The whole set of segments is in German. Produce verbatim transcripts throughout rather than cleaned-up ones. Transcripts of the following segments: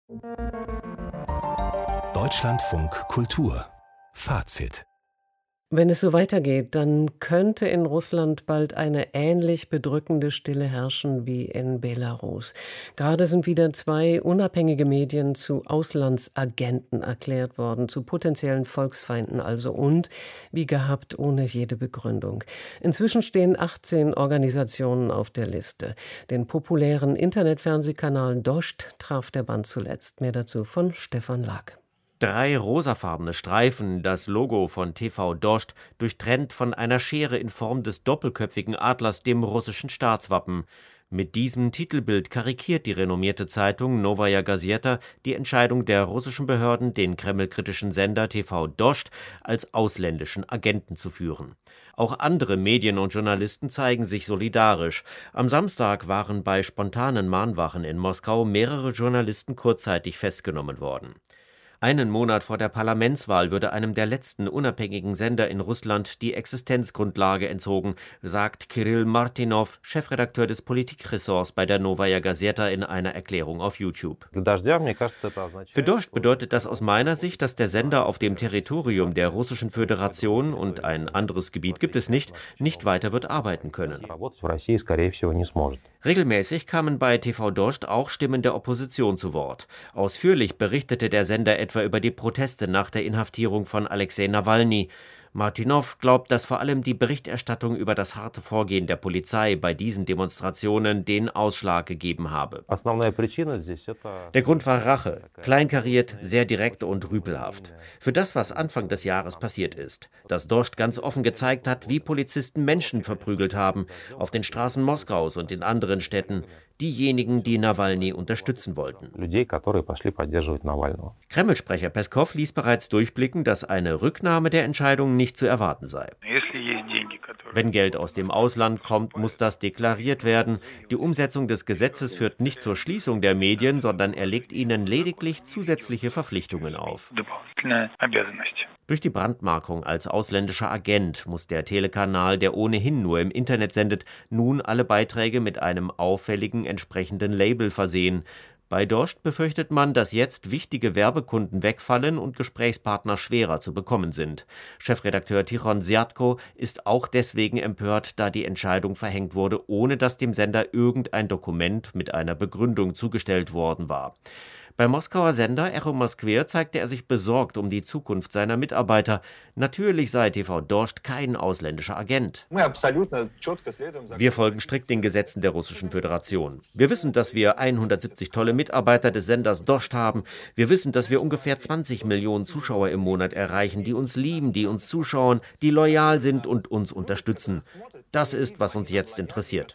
Deutschlandfunk Kultur Fazit. Wenn es so weitergeht, dann könnte in Russland bald eine ähnlich bedrückende Stille herrschen wie in Belarus. Gerade sind wieder zwei unabhängige Medien zu Auslandsagenten erklärt worden, zu potenziellen Volksfeinden also und, wie gehabt, ohne jede Begründung. Inzwischen stehen achtzehn Organisationen auf der Liste. Den populären Internetfernsehkanal Dost traf der Bann zuletzt. Mehr dazu von Stefan Lag. Drei rosafarbene Streifen, das Logo von T V Dost, durchtrennt von einer Schere in Form des doppelköpfigen Adlers, dem russischen Staatswappen. Mit diesem Titelbild karikiert die renommierte Zeitung Novaya Gazeta die Entscheidung der russischen Behörden, den kremlkritischen Sender T V Dost als ausländischen Agenten zu führen. Auch andere Medien und Journalisten zeigen sich solidarisch. Am Samstag waren bei spontanen Mahnwachen in Moskau mehrere Journalisten kurzzeitig festgenommen worden. Einen Monat vor der Parlamentswahl würde einem der letzten unabhängigen Sender in Russland die Existenzgrundlage entzogen, sagt Kirill Martinow, Chefredakteur des Politikressorts bei der Novaya Gazeta in einer Erklärung auf YouTube. Für Dost bedeutet das aus meiner Sicht, dass der Sender auf dem Territorium der Russischen Föderation, und ein anderes Gebiet gibt es nicht, nicht weiter wird arbeiten können. Regelmäßig kamen bei T V Dost auch Stimmen der Opposition zu Wort. Ausführlich berichtete der Sender etwa über die Proteste nach der Inhaftierung von Alexei Nawalny. Martinow glaubt, dass vor allem die Berichterstattung über das harte Vorgehen der Polizei bei diesen Demonstrationen den Ausschlag gegeben habe. Der Grund war Rache, kleinkariert, sehr direkt und rüpelhaft. Für das, was Anfang des Jahres passiert ist, dass Dost ganz offen gezeigt hat, wie Polizisten Menschen verprügelt haben, auf den Straßen Moskaus und in anderen Städten, diejenigen, die Nawalny unterstützen wollten. Kreml-Sprecher Peskow ließ bereits durchblicken, dass eine Rücknahme der Entscheidung nicht zu erwarten sei. Wenn Geld aus dem Ausland kommt, muss das deklariert werden. Die Umsetzung des Gesetzes führt nicht zur Schließung der Medien, sondern er legt ihnen lediglich zusätzliche Verpflichtungen auf. Durch die Brandmarkung als ausländischer Agent muss der Telekanal, der ohnehin nur im Internet sendet, nun alle Beiträge mit einem auffälligen entsprechenden Label versehen. Bei Dost befürchtet man, dass jetzt wichtige Werbekunden wegfallen und Gesprächspartner schwerer zu bekommen sind. Chefredakteur Tichon Syatko ist auch deswegen empört, da die Entscheidung verhängt wurde, ohne dass dem Sender irgendein Dokument mit einer Begründung zugestellt worden war. Beim Moskauer Sender Echo Moskwer zeigte er sich besorgt um die Zukunft seiner Mitarbeiter. Natürlich sei T V Dost kein ausländischer Agent. Wir folgen strikt den Gesetzen der Russischen Föderation. Wir wissen, dass wir hundertsiebzig tolle Mitarbeiter des Senders Dost haben. Wir wissen, dass wir ungefähr zwanzig Millionen Zuschauer im Monat erreichen, die uns lieben, die uns zuschauen, die loyal sind und uns unterstützen. Das ist, was uns jetzt interessiert.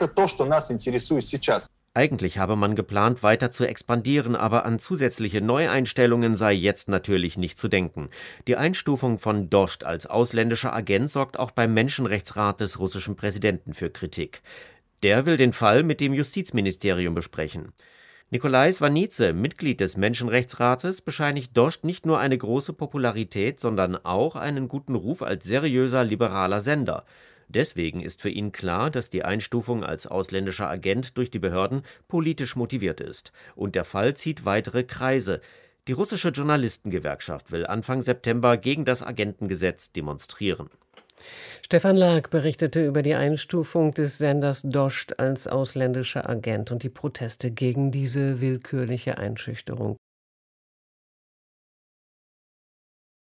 Eigentlich habe man geplant, weiter zu expandieren, aber an zusätzliche Neueinstellungen sei jetzt natürlich nicht zu denken. Die Einstufung von Dost als ausländischer Agent sorgt auch beim Menschenrechtsrat des russischen Präsidenten für Kritik. Der will den Fall mit dem Justizministerium besprechen. Nikolai Svanidze, Mitglied des Menschenrechtsrates, bescheinigt Dost nicht nur eine große Popularität, sondern auch einen guten Ruf als seriöser liberaler Sender. Deswegen ist für ihn klar, dass die Einstufung als ausländischer Agent durch die Behörden politisch motiviert ist. Und der Fall zieht weitere Kreise. Die russische Journalistengewerkschaft will Anfang September gegen das Agentengesetz demonstrieren. Stefan Lag berichtete über die Einstufung des Senders Dost als ausländischer Agent und die Proteste gegen diese willkürliche Einschüchterung.